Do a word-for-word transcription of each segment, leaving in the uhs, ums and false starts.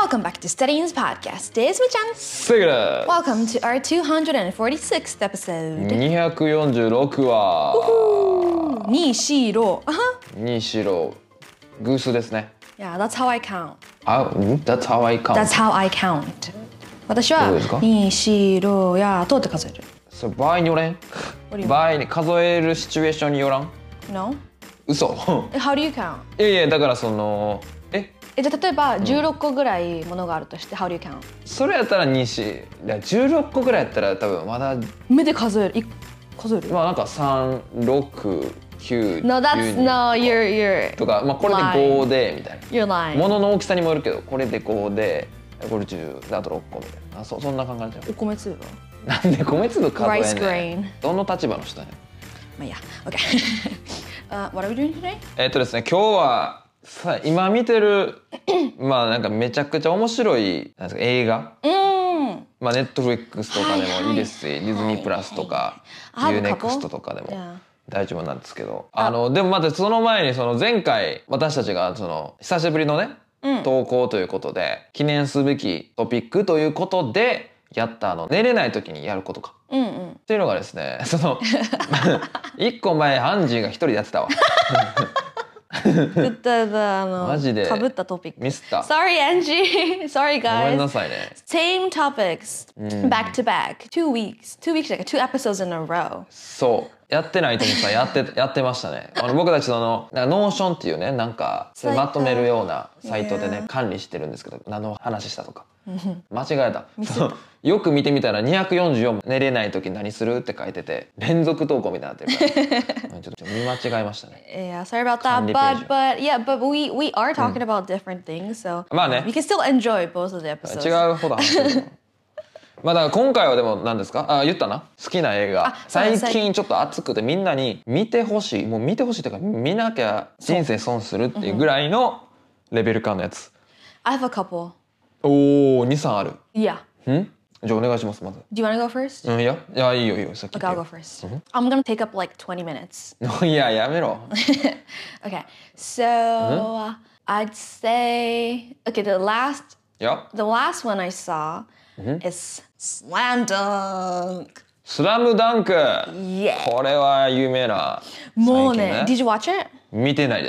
Welcome back to Studying's podcast. This is Mi-chan. Segura. Welcome to our two hundred forty-sixth episode. にひゃくよんじゅうろく話。 にしろ。 にしろ。偶数ですね。 Yeah, that's how I count. あ、ん That's how I count. That's how I count. 私はにしろやとって数える。 それ場合によれん。場合に数えるシチュエーションによらん。 No? 嘘。 How do you count? いやいやだからそのえ。 えじゃあ例えばじゅうろっこぐらいものがあるとして、How do you count? それやったらにし、じゅうろっこぐらいやったら多分まだ目で数える。数える。 まあなんかさん、ろく、きゅう、 No, that's no, you're you're とかまあこれでごでみたいな。 You're lying. 物の大きさにもよるけど、これでごで、これじゅう、あとろっこみたいな。あ、そそんな感じじゃん。 お米粒は。 なんで米粒数え Rice んねん。 grain. どの立場の人やねん。 まあいいや。Okay. uh, what are we doing today? えっとですね、今日はさ今見てるまあなんかめちゃくちゃ面白いなんですか映画。 うん。 まあネットフリックスとかでもいいですし、ディズニープラスとか、ユーネクストとかでも大丈夫なんですけど、あのでもまずその前にその前回私たちがその久しぶりのね、投稿ということで記念すべきトピックということでやったあの寝れない時にやることか。 うんうん、 っていうのがですね、その一個前アンジーが一人でやってたわ。マジでかぶったトピック。 ミスった。 Sorry, Angie. Sorry, guys. ごめんなさいね。 Same topics, back to back, two weeks, two weeks, like two episodes in a row. そう。やってないと思ったらやってやってましたね。あの僕たちそのなんかノーションっていうねなんかそれまとめるようなサイトでね管理してるんですけど、何の話したとか間違えた。よく見てみたらにひゃくよんじゅうよん寝れない時何するって書いてて連続投稿みたいになってるからちょっと見間違えましたね。 Yeah, sorry about that. But but yeah, but we we are talking about different things, so まあね。 We can still enjoy both of the episodes. 違うほど話してる。まあだから今回はでも何ですか？あ、言ったな。好きな映画。最近ちょっと熱くてみんなに見てほしい。もう見てほしいというか見なきゃ人生損するっていうぐらいのレベル感のやつ。 I have a couple. おお、に、さんある。 Yeah. ん？じゃあお願いしますまず。 Do you want to go first? うん、いや、いやいいよいいよさっき。 Okay, I'll go first. I'm gonna take up like twenty minutes. いややめろ。 Okay, so I'd say okay the last Yeah. the last one I saw is Slam Dunk. スラムダンク。 Yeah. これは有名な。 もうね、Did you watch it? 見てないです。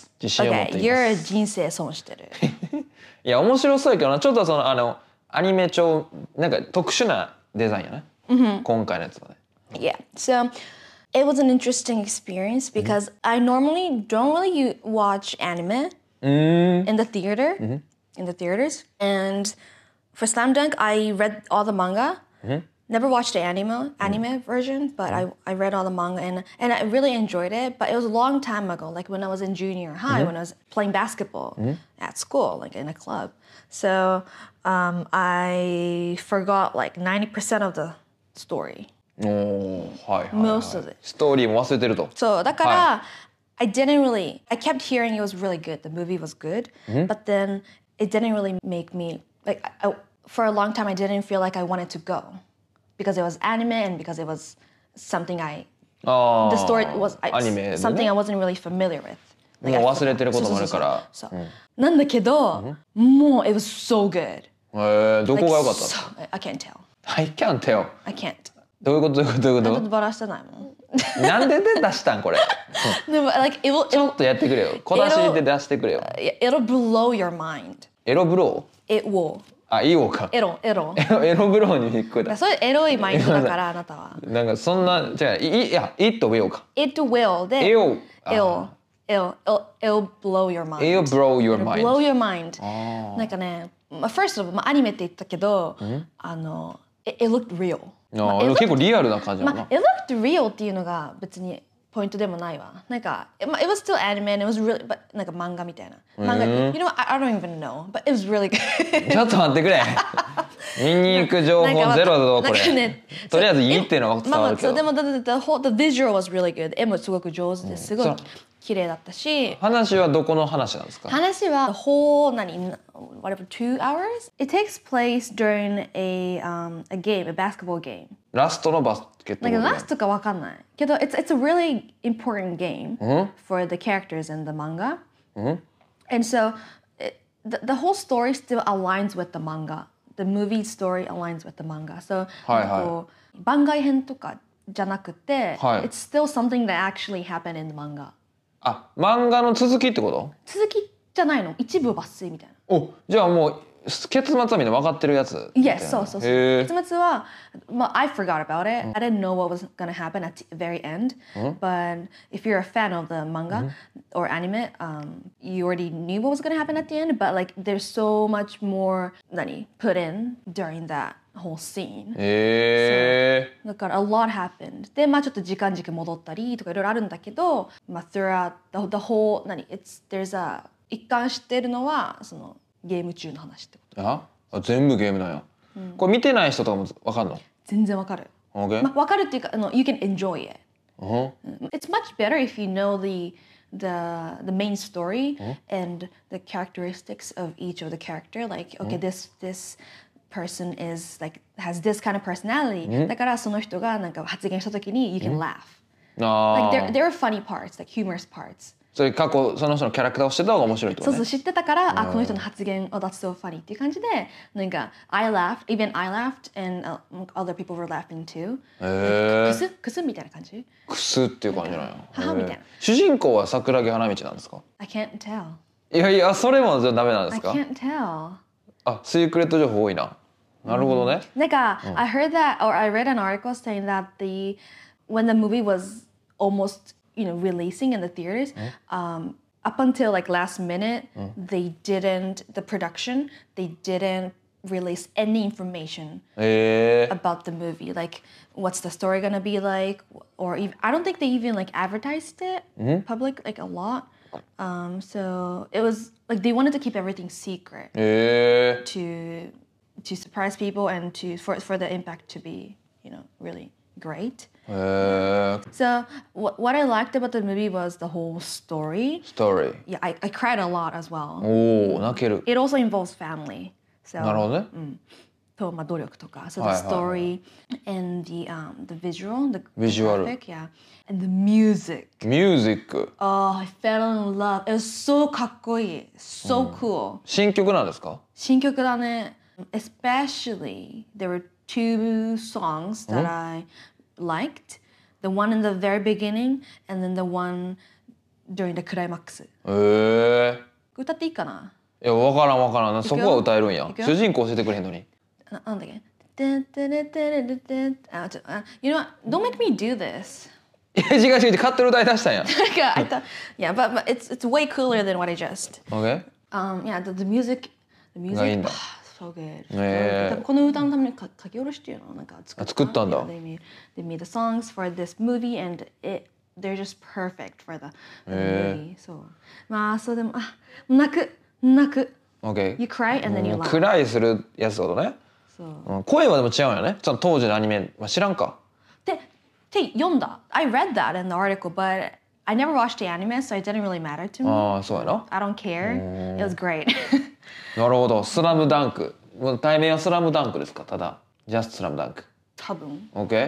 自信を持っています。 Okay, you're 人生損してる。 いや面白そうやけどな。ちょっとそのあのアニメ調なんか特殊なデザインやね。今回のやつはね。 Yeah. So it was an interesting experience because I normally don't really watch anime in the theater, in the theaters. And for Slam Dunk, I read all the manga. Never watched the anime anime version, but I, I read all the manga and and I really enjoyed it. But it was a long time ago, like when I was in junior high, when I was playing basketball at school, like in a club. So um, I forgot like ninety percent of the story. おお、はいはい、はい。 Most of it. ストーリーも忘れてると。 そうだから、I didn't really. I kept hearing it was really good. The movie was good, but then it didn't really make me like. I, for a long time, I didn't feel like I wanted to go because it was anime and because it was something I. The story was I, something I wasn't really familiar with. もう忘れてることもあるから。 そうそうそうそう。なんだけど、もう it was so good. ええ、どこが良かったの？ I can't tell. I can't tell. I can't. どういうことどういうことどういうこと？ バラしてないもん。 なんでで出したんこれ？ でも like it will. ちょっとやってくれよ。小出しで出してくれよ。 It'll blow your mind. エロブロー？ It will. あ、いいおか。 エロエロ。 エロブローに聞こえた。 それエロいマインドだからあなたは。 なんかそんなじゃあいいや it will か。 It will で。 It'll It'll it'll it'll blow your mind. It'll blow your mind. Blow your mind. なんかね、まあ first of all まあアニメって言ったけど、あの it looked real。 ああ、結構リアルな感じだな。 まあ it looked real っていうのが別にポイントでもないわ。なんか、まあ it was still anime and it was really but なんか漫画みたいな。漫画、you know I, I don't even know, but it was really good. ちょっと待ってくれ。見に行く情報ゼロだぞこれ。とりあえずいいっていうのは伝わるけど。 まあまあでも the the whole the visual was really good. 絵もすごく上手ですごい綺麗だったし。 話はどこの話なんですか？ 話は the whole 何 whatever two hours? It takes place during a um a game, a basketball game. ラストのバスケットボール。 なんかラストかわかんないけど it's it's a really important game for the characters in the manga. And so it, the, the whole story still aligns with the manga. The movie story aligns with the manga. So はいはいなんかこう番外編とかじゃなくて、 はい it's still something that actually happened in the manga. あ、漫画の続きってこと？ 続きじゃないの？一部抜粋みたいな。 お、じゃあもう結末はみんな分かってるやつ。 Yes, そうそうそう。 へー結末は、まあ、I forgot about it. I didn't know what was gonna happen at the very end. But if you're a fan of the manga or anime, um, you already knew what was gonna happen at the end. But like, there's so much more 何 put in during that whole scene. へえ。 だから a lot happened. で、まあちょっと時間軸戻ったりとかいろいろあるんだけど、まあ throughout the, the whole 何 it's there's a 一貫してるのはそのゲーム中の話ってこと。 あ、あ全部ゲームなんや。これ見てない人とかも分かんの？ 全然わかる。 Okay. まあわかるっていうか、あの you can enjoy it. Uh-huh. It's much better if you know the the the main story and the characteristics of each of the character. Like, okay, this this person is like has this kind of personality. だからその人がなんか発言したときに you can laugh. あ Like あ。 there there are funny parts, like humorous parts. それ過去その人のキャラクターを知ってた方が面白いってことね。 そうそう知ってたから、あこの人の発言、oh that's so funny っていう感じで、なんか I laughed, even I laughed, and uh, other people were laughing too. へえ。 くすくすみたいな感じ？ くすっていう感じなんや。 母みたいな。 主人公は桜木花道なんですか？ I can't tell. いやいや、それもダメなんで I すか？ can't tell. あ、シークレット情報多いな。なるほどね。 なんか、I heard that, or I read an article saying that the when the movie was almost, you know, releasing in the theaters, um, up until like last minute, they didn't the production, they didn't release any information へえ。 about the movie, like what's the story gonna be like, or even I don't think they even like advertised it public like a lot. Um, so it was like they wanted to keep everything secret へえ。 to to surprise people and to for for the impact to be, you know, really great. へえ。 So what what I liked about the movie was the whole story. ストーリー。 Yeah, I, I cried a lot as well. おお、泣ける。 It also involves family. So なるほどね。 とまあ努力とか. So はい the はいはい。 story and the um the visual, the Visual. graphic, yeah, and the music. ミュージック。 Oh, I fell in love. It was so かっこいい. So cool. 新曲なんですか？ 新曲だね. Especially, there were two songs that I liked. The one in the very beginning and then the one during the climax. へえ。 歌っていいかな？ いや、わからんわからん。そこは歌えるんやい。くよ主人公教えてくれへんのに。 ななんだっけ？てんてれてれててんあ、ちょ、あ、You know what? Don't make me do this. いや、違う違う違う、勝手に歌い出したんや。 なんか、I thought, yeah, but, but it's it's way cooler than what I just. OK? Um, yeah, the, the music, the がいい music, んだ。 so good. へえ。 多分この歌のためにか書き下ろしっていうのなんか作った。 作ったんだ。 Yeah, they made they made the songs for this movie and it they're just perfect for the, the movie. そう。まあそうでもあ泣く泣く。 OK? You cry and then you うん laugh. クライするやつってことね。 そう。 うん声はでも違うんよね。その当時のアニメは知らんか。 で、って読んだ。I read that in the article, but I never watched the anime, so it didn't really matter to me. ああ、そうやな。 I don't care. It was great. なるほど。スラムダンク。もう題名はスラムダンクですか？ただ。Just スラムダンク。 多分。 OK?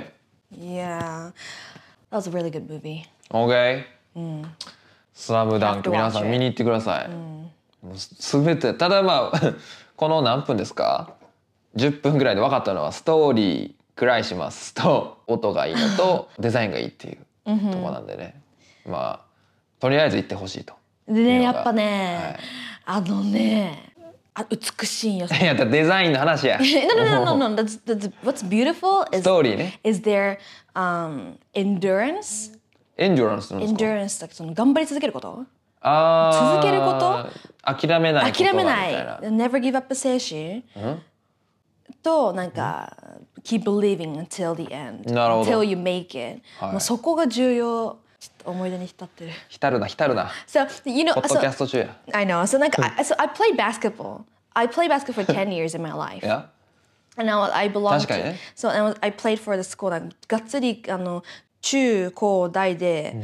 Yeah. That was a really good movie. OK? スラムダンク Have to watch 皆さん it. 見に行ってください。もうすべてただまあこの何分ですかじゅっぷんぐらいで分かったのはストーリークライしますと音がいいのとデザインがいいっていうとこなんでね、まあとりあえず行ってほしいと。 でね、 いうのがやっぱね、あのね、あ美しいんよ。 いやだデザインの話や。 no, no, no, no, no. That's, that's, what's beautiful ス is トーリーね。 is their um, endurance. エンジョランスなんですか？ Endurance だその頑張り続けること。 あ続けること諦めないことが諦めない。 みたいな。 Never give up 精神。となんか、keep believing until the end. なるほど。 Until you make it. はいもうそこが重要。ちょっと思い出に浸ってる。 浸るな浸るな。 So you know, ポッド so, キャスト中や。 I know. So like, I, so I played basketball. I played basketball for ten years in my life. いや And now I belong 確かに to. ね。 So I, was, I played for the school. なんかがっつりあの中高大で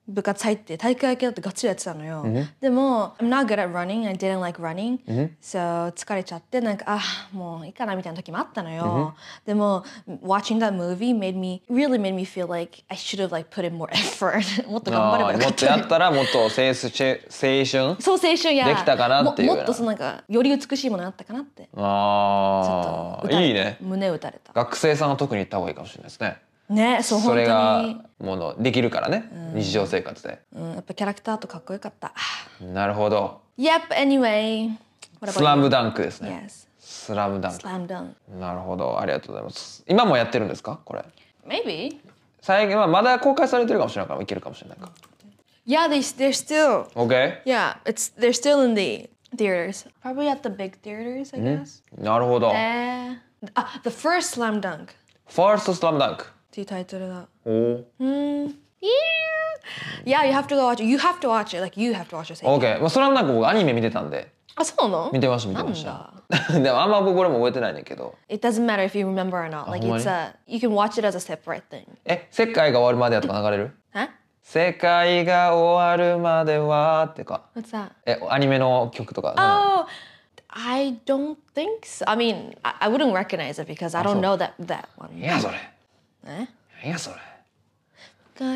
部活入って体育会系だってガッツリやってたのよ、でも I'm not good at running. I didn't like running、so 疲れちゃってなんかあもういいかなみたいな時もあったのよ、でも watching that movie made me really made me feel like I should have like put in more effort もっと頑張ればよかった、 もっとやったらもっと青春そう青春やできたかなっていうもっとそのなんかより美しいものあったかなって、 ああいいね、 胸打たれた。 学生さんは特に行った方がいいかもしれないですね。 ね、そう本当にそれがものできるからね、うん、日常生活で、 うん、やっぱキャラクターとかっこよかった。 なるほど。 Yep, anyway スラムダンクですね。 Yes. スラムダンク。 スラムダンク。 なるほど、ありがとうございます。今もやってるんですかこれ？ Maybe 最近はまだ公開されてるかもしれないからいけるかもしれないか。 Yeah, they, they're still Okay. Yeah, it's, they're still in the theaters. Probably at the big theaters, I guess、 うん、なるほど。 えー、あ、The First Slam Dunk First Slam Dunk っていうタイトルだ。 おお。 うん。Yeah, you have to go watch it. You have to watch it. Like you have to watch it. Okay. まあスラムダンク僕アニメ見てたんで。 あ、そうなの？ 見てました見てました。でもあんま僕俺も覚えてないねんけど。 It doesn't matter if you remember or not. Like it's a you can watch it as a separate thing. え、世界が終わるまでやとか流れる？ え？ 世界が終わるまではってか。 What's that? え、アニメの曲とか。 Oh, I don't think so. I mean, I, I wouldn't recognize it because I don't know that that one. いやそれ。 え？ いやそれ。 わ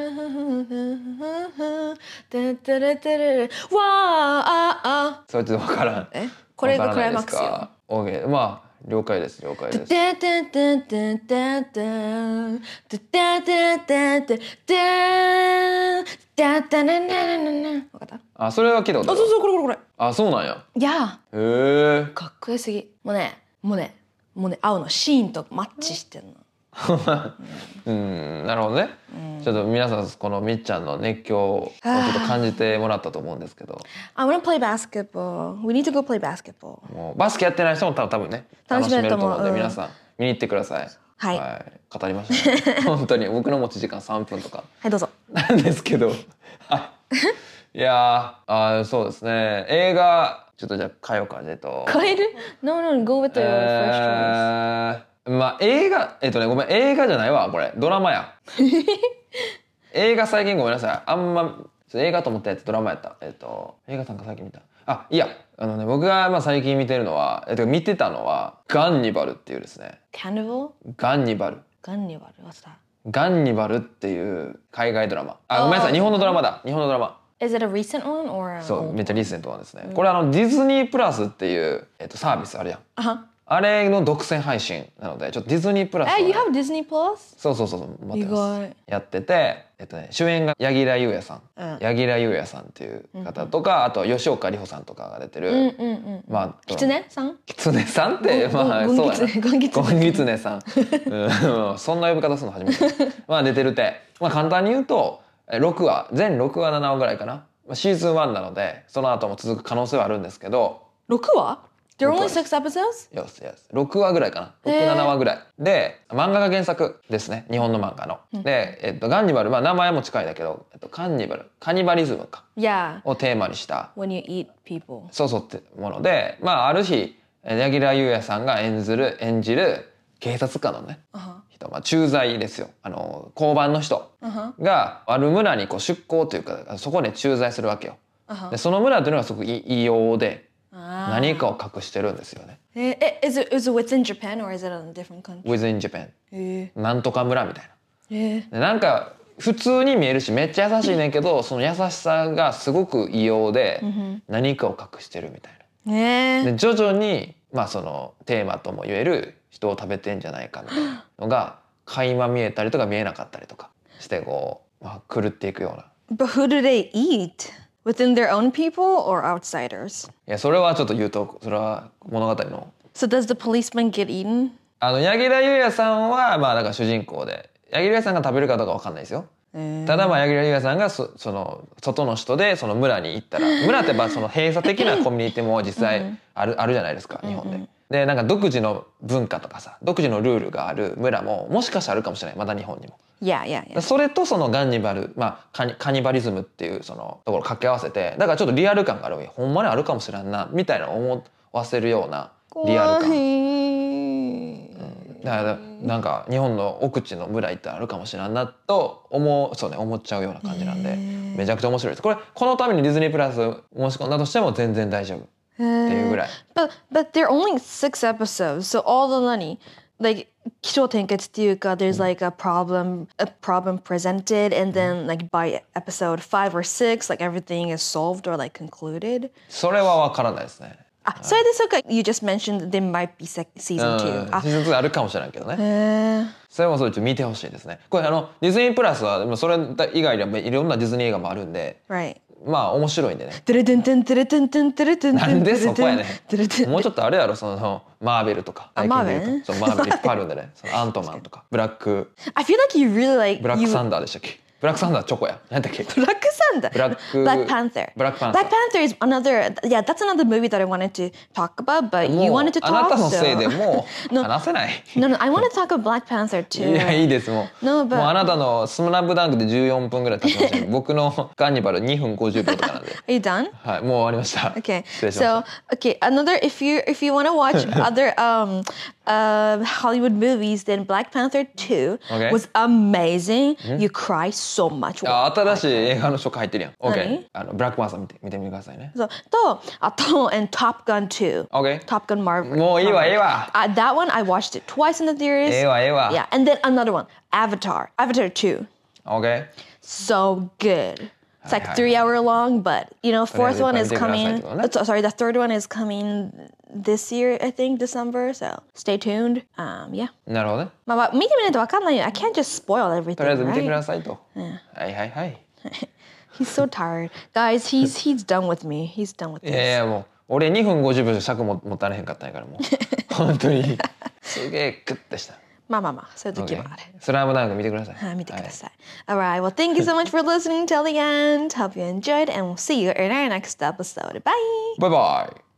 あ、 それって分からん。 え？これがクライマックスよ。 オーケー、まあ了解です了解です。あ、それは聞いたことある。 あ、そうそうこれこれこれ。 あ、そうなんや。 いや。 へえ。 かっこよすぎ。もうね、もうね、もうね、青のシーンとマッチしてんの。 うん、なるほどね、うん、ちょっと皆さんこのみっちゃんの熱狂をちょっと感じてもらったと思うんですけど。 I wanna play basketball. We need to go play basketball. もうバスケやってない人も多分ね楽しめると思うので、皆さん見に行ってください。 はい、 はい、語りましたね本当に僕の持ち時間さんぷんとかはいどうぞなんですけどいやあそうですね、映画ちょっとじゃあ変えようかじゃあと変える ?No, no, go with the first choice。 まあ映画えっとねごめん映画じゃないわこれドラマや映画最近ごめんなさいあんま映画と思ったやつドラマやったえっと映画さんか最近見たあいやあのね僕がまあ最近見てるのはえっと見てたのはガンニバルっていうですねカンニバルガンニバルガンニバル What's that？ ガンニバルっていう海外ドラマあごめんなさい日本のドラマだ日本のドラマ Is it a recent one or そうめっちゃリーセントなんですね、うん、これあのディズニープラスっていう、えっと、サービスあるやんああれの独占配信なのでちょっとディズニープラス、ね、 え、You have Disney Plus？ そうそうそう待ってますやってて、えっとね、主演が柳楽優弥さん、うん、柳楽優弥さんっていう方とか、うん、あと吉岡里帆さんとかが出てる、うんうんうん、まあキツネさんキツネさんってまあそうやなゴンギツネさん、うん、そんな呼び方するの初めてまあ出てるって、まあ、簡単に言うとろくわ全ろくわななわぐらいかなシーズンワンなのでその後も続く可能性はあるんですけどろくわThere are only six episodes? Yes, yes. ろくわぐらいかな。ろく、ななわぐらい。で、漫画が原作ですね。日本の漫画の。うん、で、えっと、ガンニバル、まあ名前も近いんだけど、えっと、カンニバル、カニバリズムか。 Yeah. をテーマにした。 When you eat people. そうそうってもので、まあある日、柳楽優弥さんが演ずる、演じる警察官のね、uh-huh. 人、まあ駐在ですよ。あの、交番の人が、ある村にこう出向というか、そこで駐在するわけよ。Uh-huh. で、その村というのがすごく異様で、何かを隠してるんですよね。 え、え、is it, is it within Japan or is it in a different country? Within Japan。 えー、 なんとか村みたいな。 えー、 なんか普通に見えるしめっちゃ優しいねんけど、その優しさがすごく異様で何かを隠してるみたいな。 えー、 で徐々にまあそのテーマとも言える人を食べてんじゃないかみたいなのが垣間見えたりとか見えなかったりとかしてこう、まあ、狂っていくような。 But who do they eat?Within their own people or outsiders? いやそれはちょっと言うとそれは物語の。 So does the policeman get eaten? あの柳楽優弥さんはまあだから主人公で柳楽優弥さんが食べるかどうかわかんないですよ。ただまあ柳楽優弥さんが そ, その外の人でその村に行ったら村ってばその閉鎖的なコミュニティも実際ある, あるじゃないですか日本で。でなんか独自の文化とかさ独自のルールがある村ももしかしたらあるかもしれないまだ日本にも。 Yeah, yeah, yeah. それとそのガンニバル、まあ、カニ、カニバリズムっていうそのところを掛け合わせてだからちょっとリアル感があるわけほんまにあるかもしれんなみたいな思わせるようなリアル感、うん、 だからなんか日本の奥地の村行ったらあるかもしれんなと思う、そうね、思っちゃうような感じなんで、めちゃくちゃ面白いです。これこのためにディズニープラス申し込んだとしても全然大丈夫っていうぐらい。 But but there are only six episodes, so all the money, like 起承転結っていうか there's like a problem a problem presented and then like by episode five or six like everything is solved or like concluded. それはわからないですね。 あ、それでそうか you just mentioned that there might be season う two. ん、シーズンツーあるかもしれないけどね。 へー。 それもそれちょっと見てほしいですね。これあのディズニープラスはでもそれ以外にはいろんなディズニー映画もあるんで、 Right. まあ面白いんでね。 トゥルトゥントゥントゥルトゥントゥントゥルトゥントゥンなんでそこやねトゥルトゥンん。もうちょっとあれやろ、そのマーベルとか。 あ最近で言うとマーベルそうマーベルいっぱいあるんでね。そのアントマンとかブラック I feel like you really like ブラック you サンダーでしたっけ？ブラックサンダーチョコや。何だっけ？ Black Panther. Black- Black Panther. Black Panther. Black Panther is another. Yeah, that's another movie that I wanted to talk about, but も you う wanted to あな talk. たのせい So. でもう No. 話せない。 No, no, I want to talk about Black Panther い too. やいいですもう。 No, but- もうあなたのスラムダンクでじゅうよんぷんぐらい経ちましたけど、僕のカーニバルにふんごじゅうびょうとかなんで。 Are you done? はい、もう終わりました。 Okay. 失礼しました。 So, okay, another. If you if you want to watch other um, uh, Hollywood movies, then Black Panther two Okay. was amazing. You cry so much. あ、新しい映画の初回入ってるやん。 何 OK。あのブラックパンサー見て見てみてくださいね。 そうとあと and Top Gun two. OK。 Top Gun Marvel. もういいわいいわ。 Uh, that one I watched it twice in the theaters. ええわええわ。 Yeah, and then another one, Avatar. Avatar two. OK。 So good. It's like Hi, hi, three hi. hour long, but you know, fourth one is Did you coming. guys like it? uh, Sorry, the third one is coming this year, I think, December. So stay tuned. Um, yeah. なるほどね。 まあまあ見てみないとわかんないよ。I can't just spoil everything, とりあえず見てく right? ださいと。はいはいはい。 He's so tired. Guys, he's he's done with me. He's done with いやい this. やもう俺にふんごじゅうびょう尺も持たれへんかったんやからもう本当にすげえグッてした。 まあまあまあ、そういう時 OK もある。 スラムダンク見てください。 はい、見てください。Alright, well, thank you so much for listening till the end. Hope you enjoyed, and we'll see you in our next episode. Bye! バイバイ。